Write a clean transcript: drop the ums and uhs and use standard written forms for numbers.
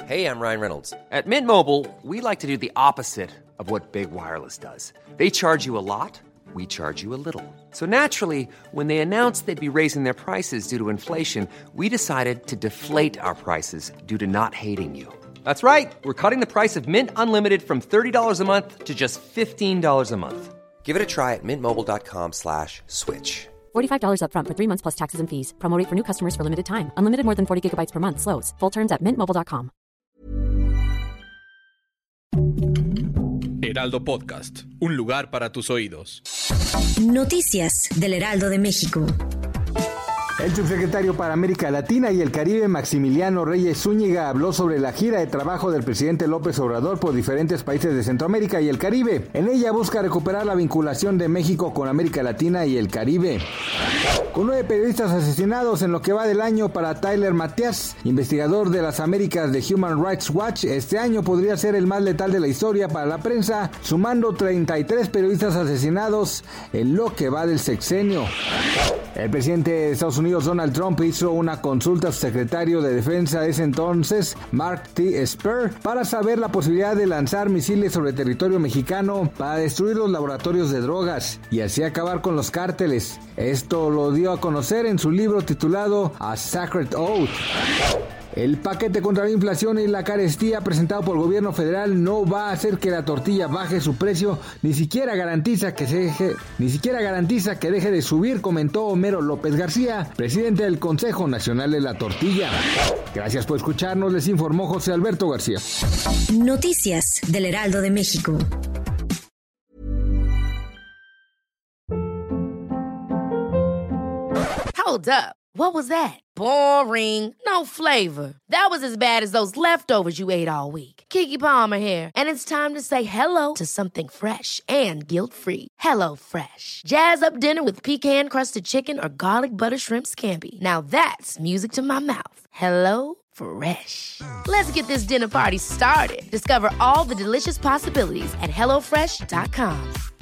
Hey, I'm Ryan Reynolds. At Mint Mobile, we like to do the opposite of what Big Wireless does. They charge you a lot, we charge you a little. So naturally, when they announced they'd be raising their prices due to inflation, we decided to deflate our prices due to not hating you. That's right. We're cutting the price of Mint Unlimited from $30 a month to just $15 a month. Give it a try at mintmobile.com/switch. $45 up front for 3 months plus taxes and fees. Promo rate for new customers for limited time. Unlimited more than 40 gigabytes per month. Slows full terms at mintmobile.com. Heraldo Podcast, un lugar para tus oídos. Noticias del Heraldo de México. El subsecretario para América Latina y el Caribe, Maximiliano Reyes Zúñiga, habló sobre la gira de trabajo del presidente López Obrador por diferentes países de Centroamérica y el Caribe. En ella busca recuperar la vinculación de México con América Latina y el Caribe. Con 9 periodistas asesinados en lo que va del año para Tyler Matias, investigador de las Américas de Human Rights Watch, este año podría ser el más letal de la historia para la prensa, sumando 33 periodistas asesinados en lo que va del sexenio. El presidente de Estados Unidos, Donald Trump, hizo una consulta a su secretario de Defensa de ese entonces, Mark T. Esper, para saber la posibilidad de lanzar misiles sobre territorio mexicano para destruir los laboratorios de drogas y así acabar con los cárteles. Esto lo dio a conocer en su libro titulado A Sacred Oath. El paquete contra la inflación y la carestía presentado por el gobierno federal no va a hacer que la tortilla baje su precio, ni siquiera garantiza que deje de subir, comentó Homero López García, presidente del Consejo Nacional de la Tortilla. Gracias por escucharnos, les informó José Alberto García. Noticias del Heraldo de México. Hold up. What was that? Boring. No flavor. That was as bad as those leftovers you ate all week. Keke Palmer here, and it's time to say hello to something fresh and guilt-free. Hello Fresh. Jazz up dinner with pecan-crusted chicken or garlic butter shrimp scampi. Now that's music to my mouth. Hello Fresh. Let's get this dinner party started. Discover all the delicious possibilities at HelloFresh.com.